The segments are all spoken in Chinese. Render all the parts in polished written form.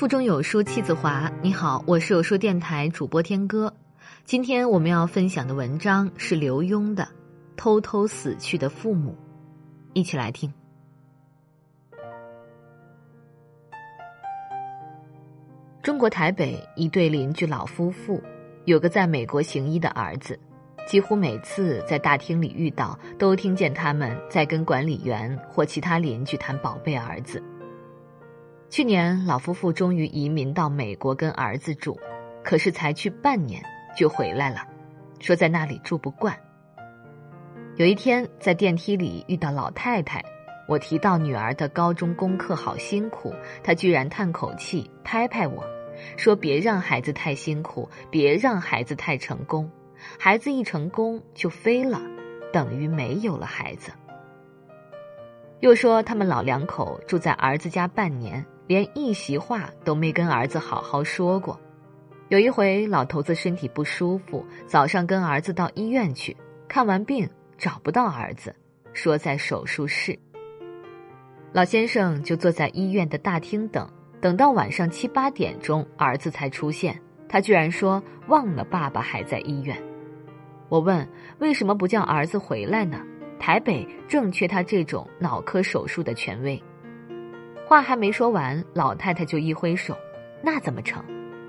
腹中有书气自华。你好，我是有书电台主播天歌。今天我们要分享的文章是刘墉的《偷偷死去的父母》，一起来听。中国台北一对邻居老夫妇，有个在美国行医的儿子，几乎每次在大厅里遇到，都听见他们在跟管理员或其他邻居谈宝贝儿子。去年老夫妇终于移民到美国跟儿子住，可是才去半年就回来了，说在那里住不惯。有一天在电梯里遇到老太太，我提到女儿的高中功课好辛苦，她居然叹口气拍拍我，说别让孩子太辛苦，别让孩子太成功，孩子一成功就飞了，等于没有了孩子。又说他们老两口住在儿子家半年，连一席话都没跟儿子好好说过。有一回老头子身体不舒服，早上跟儿子到医院去，看完病找不到儿子，说在手术室。老先生就坐在医院的大厅等到晚上7、8点钟儿子才出现，他居然说忘了爸爸还在医院。我问为什么不叫儿子回来呢？台北正缺他这种脑科手术的权威。话还没说完，老太太就一挥手，那怎么成？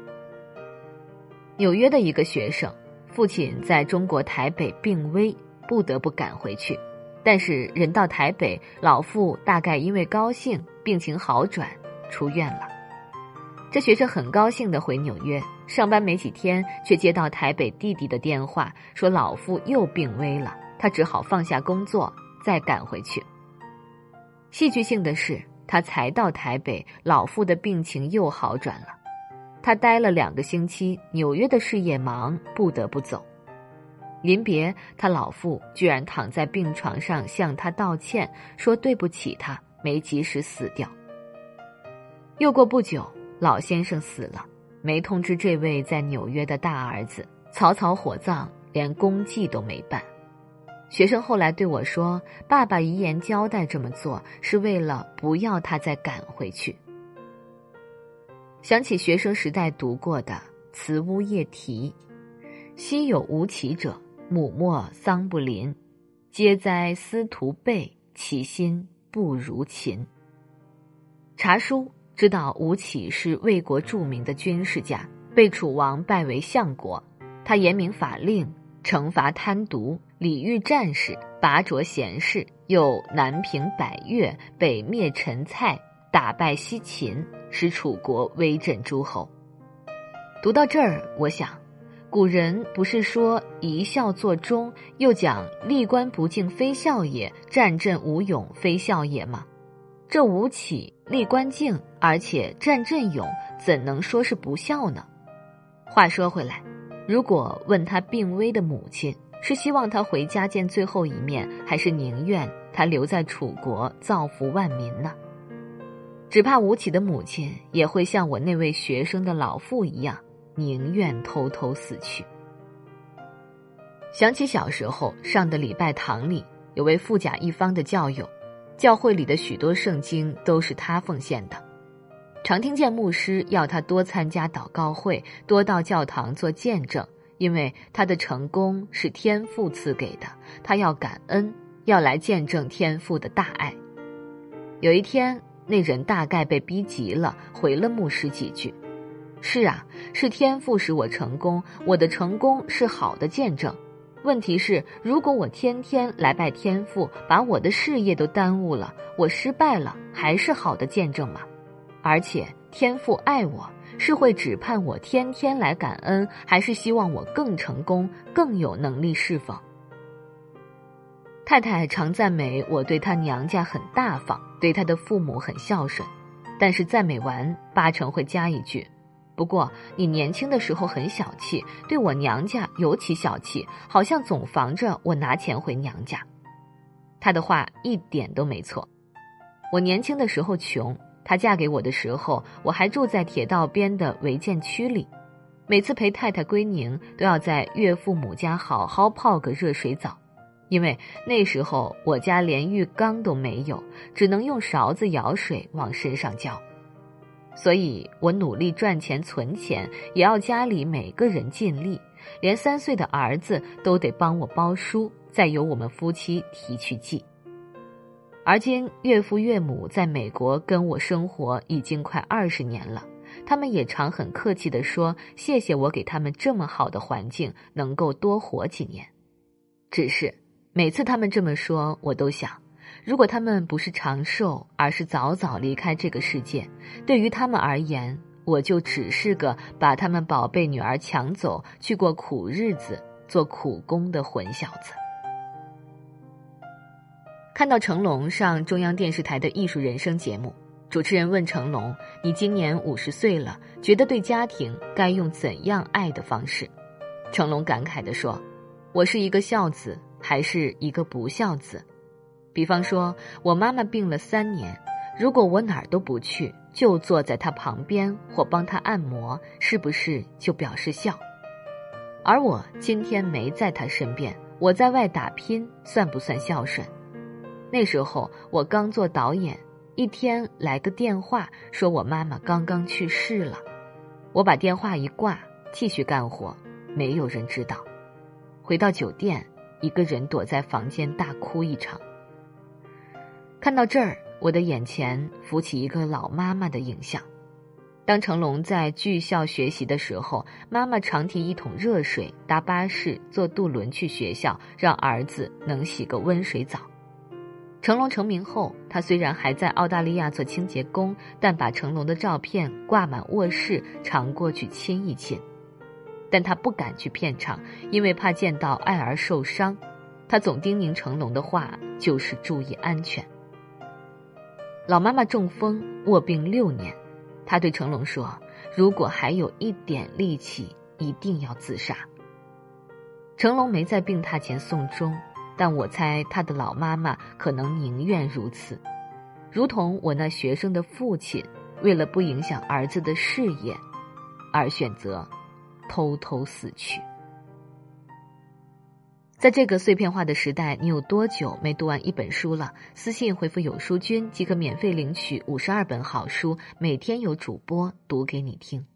纽约的一个学生，父亲在中国台北病危，不得不赶回去，但是人到台北，老父大概因为高兴，病情好转，出院了。这学生很高兴地回纽约，上班没几天，却接到台北弟弟的电话，说老父又病危了，他只好放下工作，再赶回去。戏剧性的是，他才到台北，老父的病情又好转了。他待了2个星期，纽约的事业忙，不得不走。临别，他老父居然躺在病床上向他道歉，说对不起他，没及时死掉。又过不久，老先生死了，没通知这位在纽约的大儿子，草草火葬，连公祭都没办。学生后来对我说，爸爸遗言交代这么做，是为了不要他再赶回去。想起学生时代读过的《慈屋夜题》，昔有吴起者，母莫丧不临，皆哉司徒辈，其心不如秦。查书知道吴起是魏国著名的军事家，被楚王拜为相国，他严明法令，惩罚贪渎，礼遇战士，拔擢贤士，又南平百越，北灭陈蔡，打败西秦，使楚国威震诸侯。读到这儿，我想古人不是说一孝作忠，又讲历官不敬非孝也，战阵无勇非孝也吗？这吴起历官敬，而且战阵勇，怎能说是不孝呢？话说回来，如果问他病危的母亲是希望他回家见最后一面，还是宁愿他留在楚国造福万民呢？只怕吴起的母亲也会像我那位学生的老父一样，宁愿偷偷死去。想起小时候上的礼拜堂里，有位富甲一方的教友，教会里的许多圣经都是他奉献的。常听见牧师要他多参加祷告会，多到教堂做见证，因为他的成功是天父赐给的，他要感恩，要来见证天父的大爱。有一天，那人大概被逼急了，回了牧师几句，是啊，是天父使我成功，我的成功是好的见证。问题是，如果我天天来拜天父，把我的事业都耽误了，我失败了，还是好的见证吗？而且天父爱我，是会只盼我天天来感恩，还是希望我更成功，更有能力侍奉？太太常赞美我对她娘家很大方，对她的父母很孝顺，但是赞美完8成会加一句，不过你年轻的时候很小气，对我娘家尤其小气，好像总防着我拿钱回娘家。她的话一点都没错。我年轻的时候穷，她嫁给我的时候，我还住在铁道边的违建区里，每次陪太太归宁，都要在岳父母家好好泡个热水澡。因为那时候我家连浴缸都没有，只能用勺子舀水往身上浇。 所以我努力赚钱存钱，也要家里每个人尽力，连3岁的儿子都得帮我包书，再由我们夫妻提去寄。而今岳父岳母在美国跟我生活已经快20年了，他们也常很客气地说谢谢我给他们这么好的环境，能够多活几年。只是每次他们这么说，我都想，如果他们不是长寿，而是早早离开这个世界，对于他们而言，我就只是个把他们宝贝女儿抢走，去过苦日子，做苦工的混小子。看到成龙上中央电视台的艺术人生节目，主持人问成龙，你今年50岁了，觉得对家庭该用怎样爱的方式？成龙感慨地说，我是一个孝子，还是一个不孝子？比方说，我妈妈病了3年，如果我哪儿都不去，就坐在她旁边或帮她按摩，是不是就表示孝？而我今天没在她身边，我在外打拼，算不算孝顺？那时候我刚做导演，一天来个电话，说我妈妈刚刚去世了。我把电话一挂，继续干活，没有人知道。回到酒店，一个人躲在房间大哭一场。看到这儿，我的眼前浮起一个老妈妈的影像。当成龙在剧校学习的时候，妈妈常提一桶热水，搭巴士，坐渡轮去学校，让儿子能洗个温水澡。成龙成名后，他虽然还在澳大利亚做清洁工，但把成龙的照片挂满卧室，常过去亲一亲。但他不敢去片场，因为怕见到爱儿受伤。他总叮咛成龙的话就是注意安全。老妈妈中风卧病6年，他对成龙说，如果还有一点力气，一定要自杀。成龙没在病榻前送终，但我猜他的老妈妈可能宁愿如此，如同我那学生的父亲，为了不影响儿子的事业，而选择偷偷死去。在这个碎片化的时代，你有多久没读完一本书了？私信回复有书君即可免费领取52本好书，每天有主播读给你听。